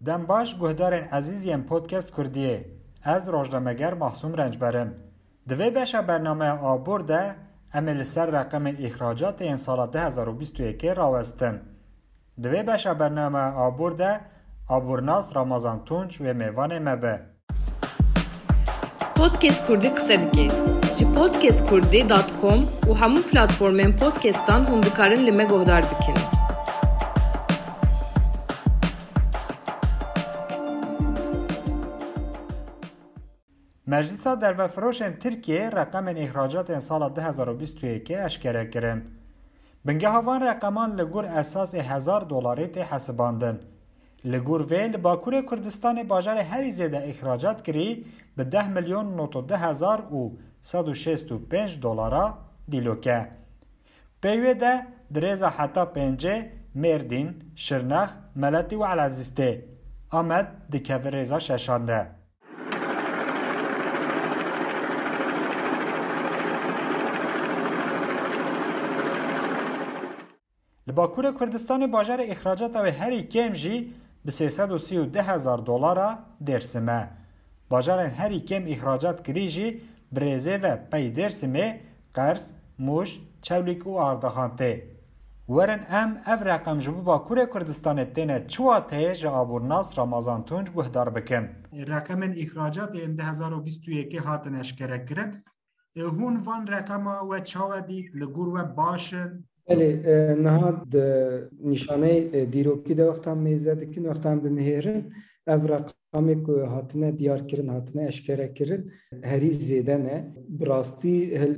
دم باش گهدارن عزیزیم پودکست کردیه. از روزنامه‌گر محسوم رنجبرم. دوی بشه برنامه آبورده عمل سر رقم اخراجات این سال 2021 راوستن. دوی بشه برنامه آبورده آبورناس رمضان تونج و میوان مبه. پودکست کردی قصه دکی. جی podcastkurdی.com و همون پلتفرمین پودکستان هم بکارن لما گهدار بکن. مجلس دروفروش ترکیه رقم اخراجات این سال 2021 اشکره کرد. بنگه هاوان رقمان لگور اساس $1000 تی حساباندن. لگور ویل باکور کردستان باجار هری زیده اخراجات کری به $10,092,165 دیلوکه. پیوه ده دریزا حتا پنجه مردین، شرنخ، ملتی و علازسته. آمد دکوه ریزا ششانده. لباکور کردستان باجار اخراجات و هری کم جی به $332,000 درسمه. باجار هری کم اخراجات کری جی برزه و پی درسمه قرص، موش، چولیک و آردخانته. ورن اف رقم جبو باکور کردستان تینه چواته جا آبورناس رمضان تونج گهدار بکن. رقم اخراجات 2021 هاتن اشکره کرن. هون وان رقم و چاوه دید لگور و باشن بله نهاد نشانه دیروکی ده وقت هم میزه دکن وقت هم ده نهیرن او رقمی که هاتنه دیار کرن هاتنه اشکره کرن هری زیده نه براستی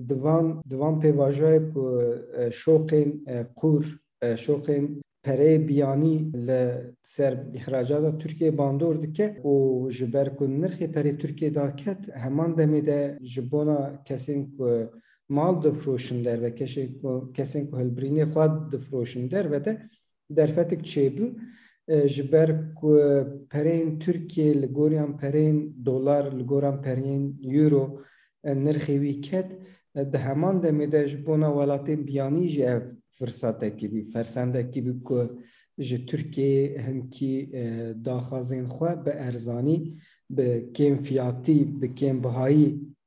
دوان پیواجه که شوقین قور شوقین پره بیانی لسر اخراجات ترکیه باندور دکه و جبر کن نرخی پره ترکیه داکت همان دمیده جبونا کسین که مال دفروشن در و کسین که هلبرینی خود دفروشن در و ده در فتک چه بو جبر که پرین ترکیه لگوریان پرین دلار لگوریان پرین یورو نرخی ویکت ده همان دمیده جبونا ولاتین بیانی جه فرصت اکی فرسند اکی بی که جه ترکیه هنکی داخازین خواه به ارزانی به کم فیاتی به کم بهایی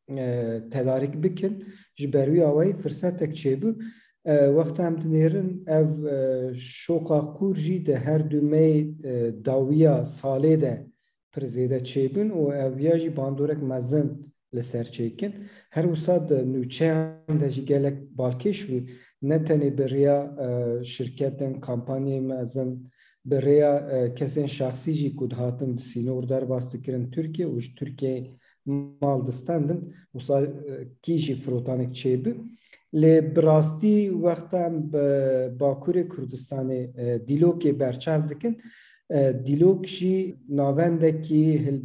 تدارک بکن جبروی آوای فرصت اک چه بو وقت هم دنیرن او شوقا کور جی ده هر دومی داویا ساله ده پرزیده چه بون و اویا جی باندورک مزن لسر چیکن هر وساد نوچه هم ده جی گلک بالکش بو نتنی بریا شرکتن کمپانی مزن بریا کسین شخصی جی کود هاتن سینور در باستو کرن ترکیه و ترکیه مال دستاندن وصل کیجی فروتانک چه بو لی براستی وقتا باکور کردستان دیلوکی برچاو دکن دیلوک جی ناونده کی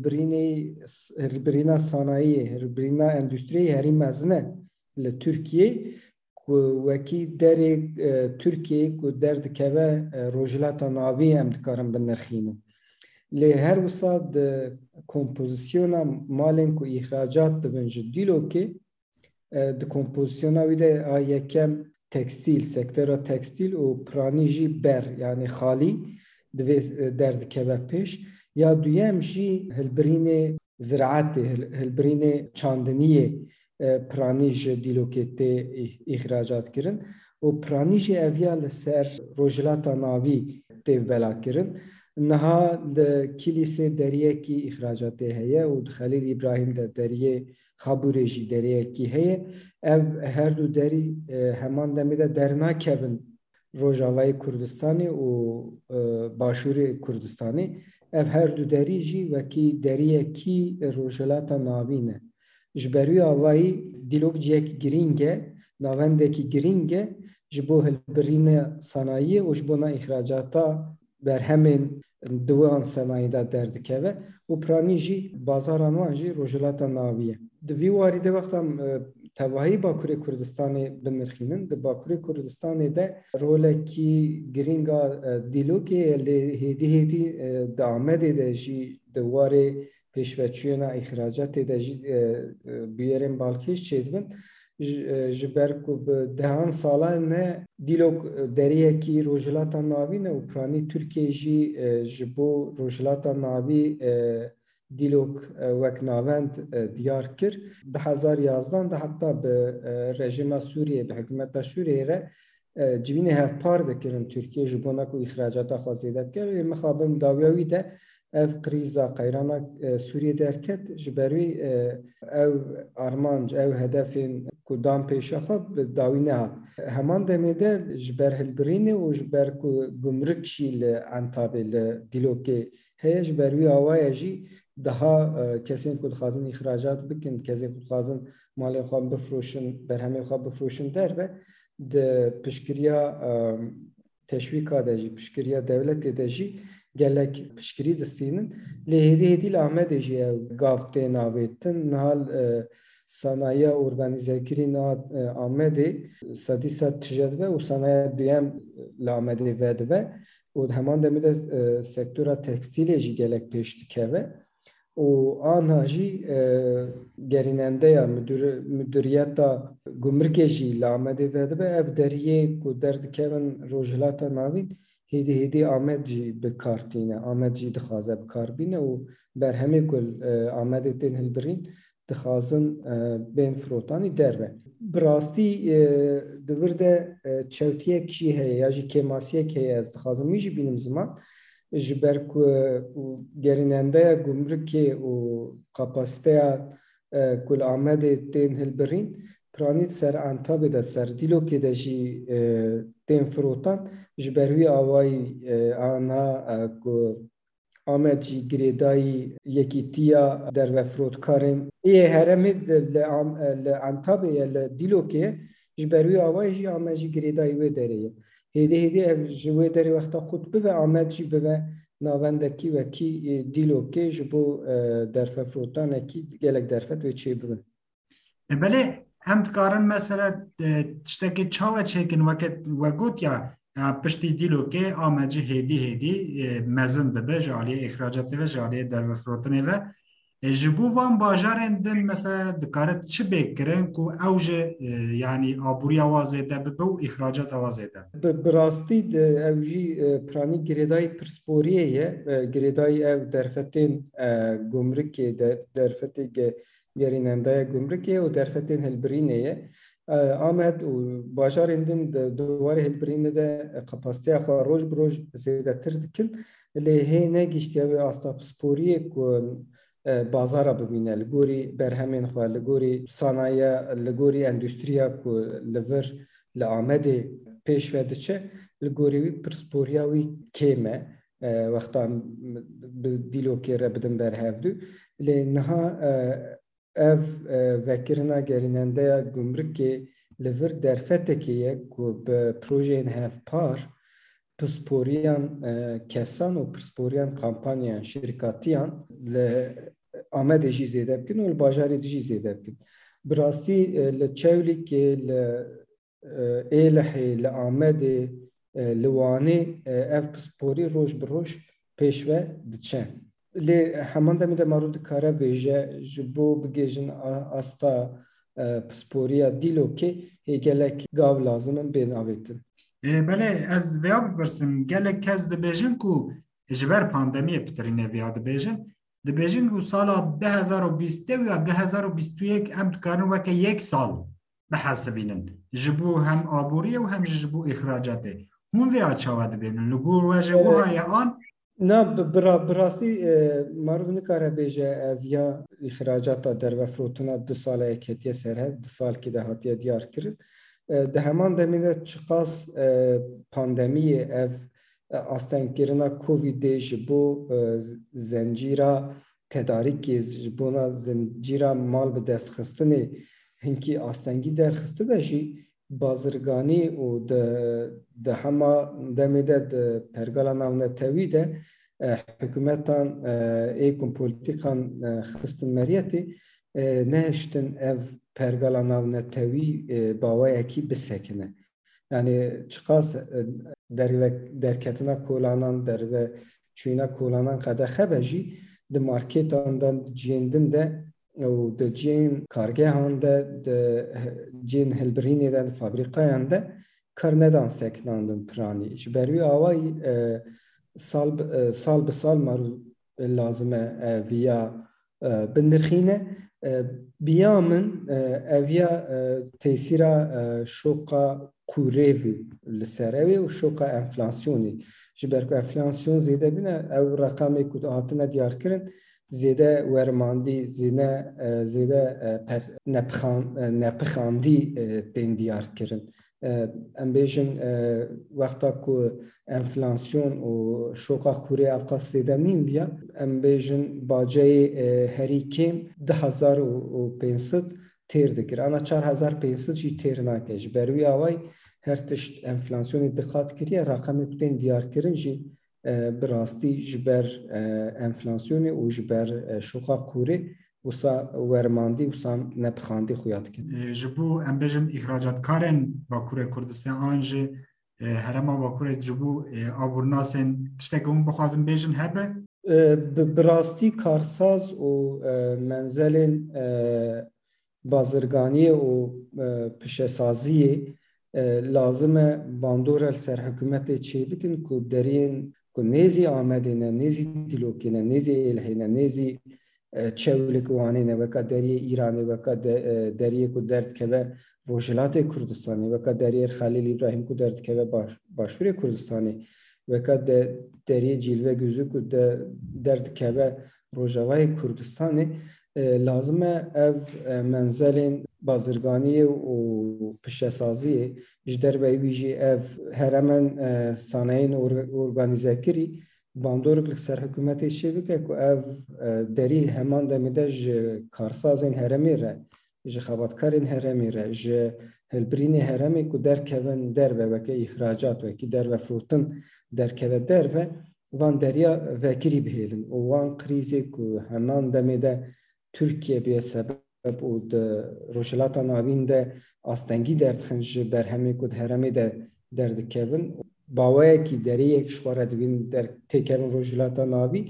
هلبرینا صنایع هلبرینا اندوستری هری مزنه لترکیه وکی در ترکیه کو درد که روجلات ناوی هم دکارن بنرخینن لی هر وساد کمپوزیسیونا مالن کو اخراجات دبنج دیلوکی د کمپوزیسیونا ویده یکم تکستیل سکتر تکستیل و پرانیجی بر یعنی خالی درد که پیش یا دویم جی هلبرین زراعت هلبرین چاندنیه پرانیج دیلوکی تی اخراجات کرن و پرانیج اویا لسر روجلاتا ناوی تی بلا کرن نها د کلیسه دریه کی اخراجات هيا و خلیل ابراهیم د دریه خابورجی دریه کی هيا اف هر دو دری همان دمیده درنا کبن روجاوای کردستانی و باشور کردستانی اف هر دو دری جی و کی دریه کی روجلات ناوینه جبروی آوای دیلوک جیک گرینگه ناونده کی گرینگه جبو هلبرین صنایع و جبونا اخراجاتا بر همین دوان صنایع درد که و پرانیجی بازاران وانجی روجلات ناویه دوی واریده وقتم تواهی باکوری کردستان بنرخینن ده باکوری کردستان ده رولکی گرینگا دیلوکی هیدی دامده ده جی دواره پیشوچیونا اخراجات ده جی بیارن بالکیش چیدون ji ber ku bi dehan salan ne dîlok deriyekî rojhilata navî ne û piranî Tirkiye jî ji bo rojhilata navî dîlok wek navend diyar kir. Bi 2011 de heta bi rejima Sûriye, bi hikûmeta Sûriyê re civînê hevpar dikirin Tirkiye ji bo ku îxracata xwe zêde bike. Mixabin dawiya wî de ev krîza qeyrana Sûriyê derket ji ber wî ev armanc, ev hedefên ku dan pêşa xwe bi dawî nehat. Heman demê de ji ber hilbirînê û ji ber ku gumruk jî li Entabê li dîlokê heye ji ber wî awaya jî daha kesên ku dixwazin îxracat bikin, kesên ku dixwazin malên xwe bifroşin, berhemên xwe bifroşin derve di piştgiriya teşwîka de jî, piştgiriya dewletê de jî gelek piştgirî distînin. Lê hêdî li Amedê jî ev gav tên avêtin. Nihal sanayiya organîzekirî na Amedê sedî sed tije dibe û sanayiya duyem li Amedê vedibe û heman demê de sektora tekstîlê jî gelek pêş dikeve û aniha jî gerînendeya müdüriyeta gumrukê jî li Amedê vedibe. Ev deriyê ku derdikevin rojhilata navîn hêdî Amed jî bi kar tîne. Amed jî dixwaze bi kar bîne û berhemê ku Amedê tên hilbirîn dixwazin bên firotanî derve. Bi rastî di vir de çewtiyek jî heye ya jî kêmasiyek heye ez dixwazim wî jî bînim ziman ji ber ku gerînendeya gumrukê û kapasiteya ku li Amedê tên hilbirîn piranî ser Entabê de ser dîlokê de jî tên firotan ji ber wî awayî aniha ku Amed jî girêdayî yekîtiya dervefrotkarên ê heremê li Entabê ye li dîlokê ji ber wî awayî jî Amed jî girêdayî wê derê ye. Hêdî ev ji wê derê wexta xut bibe Amed jî bibe navendekî wekî dîlokê ji bo derfefrotanekî gelek derfet wê çê bibin. Belê em dikarin mesela tiştekî çawa çêkin weke got ya piştî dîlokê Amed jî hêdî mezin dibe ji aliyê îxracatê ve ji aliyê dervefrotinê ve ji bo van bajarên din mesela dikarin çi bêkirin ku ew ji yani abûriya wa zêde bibe û îxracata wa zêde. Bi rastî ew jî piranî girêdayî pirsporiyê ye. Girêdayî ev derfetên gumrukê derfetê gerînendeya gumrukê û derfetên hilbirînê ye. Amed û bajarên din di dwarê hilbirînê de kapasiteya xwe roj bi roj zêdetir dikin. Lê hê negîştiye wê asta pisporiyê ku bazara bibîne li gorî berhemên xwe, li gorî sanayiya, li gorî endûstriya ku li vir li Amedê pêş ve diçe, li gorî wî pirsporiya wî kêm e wexta bi dîlokê re bidin berhevdû. Lê niha ev vekirina gerînendeya gumrukê li vir derfetekê ye ku bi projeyên hevpar pisporiyan kesan û pisporiyan kampanyayan şirkatiyan li Amedê jî zêde bikin û li bajarê de jî zêde bikin. Bi rastî li Çewlîkê, li Êlihê, li Amedê, li Wanê ev pisporî roj bi roj pêş ve diçe. Lê heman demê de marû dikare bêje ji bo bigêjin asta pisporiya dîlokê hê gelek gav lazim in bên avêtin. Belê ez vêya bipirsim gelek kes dibêjin ku ji ber pandemiyê pitirîne vêya dibêjin dibêjin ku sala 2020 ya 2021 em dikarin weke yek sal bihesibînin ji bo hem abûriyê û hem ji bo îxracatê. Hûn vêya çawa dibêjin li gor we ji wiha an Na bi rastî marû nikare bêje ev ya îxracata dervefrotina du saleyek hetiye serhev, du salkî de hatiye diyar kirin. Di heman demê de çiqas pandemiyê ev astengkirina Covidê ji bo zencîra tedarîkê ji bona zencîra mal bi destxistinê hinkî astengî derxistibe jî bazirganî û di hema demê de di pergala navnetewî de hikûmetan êkûn polîtîkan xistin meriyetê nehiştin ev pergala navnetewî bawayekî bisekine. Yani çiqas derketina kolanan derve çûna kolanan qede xebe jî di markêtan de ciyên din de و د جین کارگاهان د جین هلبرینی د فابریکایان د کرندان سکناندن پرانی جبروی آوای سال به سال مرو لازمه ویا بندرخینه بیامن اویا تأثیرا شوکا کوریوی لسروی و شوکا انفلاسیونی جبرکو انفلاسیون زیاده بینه او رقمی که هاتنه دیار کرن زیاده ورماندی زیاده نپخاندی تین دیار کرن ام بیشن وقتا که انفلاسیون و شوکا کوری افقاس زیاده نیم بیا ام بیشن باجه هری کم 1500 تیر دکر انا 4500 جی تیر ناکش بروی آوای هر تشت انفلاسیونی دقت کریه رقمی کتین دیار کرن جی براستی جبر انفلاسیونی و جبر شوکا کوری وسا ورماندی وسا نپخاندی خویات کن جبو ام بیشن اخراجات کارن باکور کردستان آنجه هرما باکور جبو آبورناسن تشتگون بخوازم بیشن هبه براستی کارساز و منزلین بازرگانی و پشسازی لازمه باندور سر حکومت چی بکن که درین که نیزی آمدینه نیزی دیلوکینه نیزی الهینه نیزی چولکوانینه وکا دری ایرانی وکا دری که درد که روجلات کردستانی وکا دری خلیل ابراهیم که درد که باشور کردستانی وکا دری جلوه گوزو که درد که روجوای کردستانی لازمه اف منزلین بازرگانی و پشسازی جدر ویجی اف هرمن صانعین ارگانیزه کری باندورک سر حکومت شبکه که اف دری همان دمیده کارسازین هرمی را خاباتکارین هرمی را هلبرین هرمی که در کون در و که اخراجات و که در و فروتن در که در و وان دریا وکری بهیلن و وان کریزی که همان دمیده Türkiye bir sebep o da Rojilata navin de astengi derdxinj berhemi kud heremi de derdikevin bawaya ki deriyek şwara divin der tekevin Rojilata navi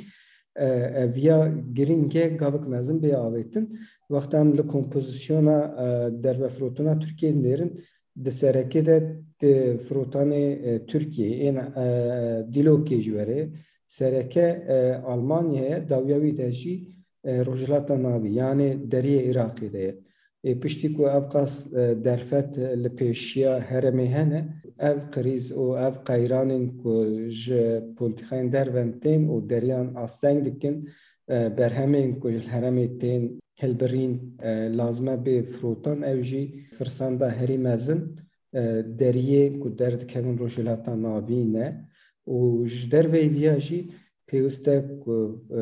via giringe gavik mezin be avetin vaqtam li kompozisyona der ve frotuna Türkiye'nin derin de sereke de frotane Türkiye en dilokej vere sereke Almanya'ya davyavi deji روجلات ناوی یعنی دری عراقی ده پشتی کو افقاس درفت لپیشیا هرمی هنه اف قریز و اف قیرانین کو ج پولتخین دروندین و دریان آستنگ دکن برهمین کو هرمی تین هلبرین لازمه به فروتان اوجی فرسانده هری مزن دریه کو درد کمون روجلات ناوی نه و جدر ویاجی پیوسته کو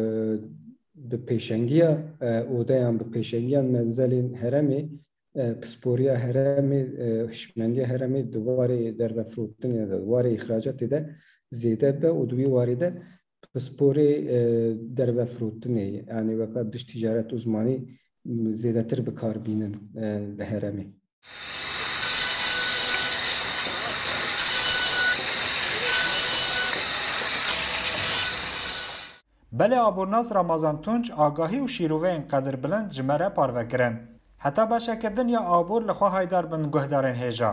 به پیشنگیا اودایان به پیشنگیان منزلین هرمی پسپوریا هرمی هشمندی هرمی دوباره در و فروتن دوباره اخراجات ده زیاده به و دوی وارده پسپوری در و فروتن یعنی وقت دش تجارت عثمانی زیاده تر به کار بینن به هرمی بله آبورناس رمضان تونج آگاهی و شیروه اینقدر بلند جمره پارو کرن. حتی باشه که دنیا آبور لخواه هایدار بن گهدارن هیجا.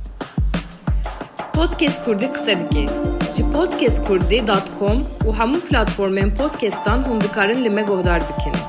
پودکست کردی قصه دکی. جی podcastkurdi.com و همون پلاتفورمین پودکستان هم بکارن لمه گهدار بکن.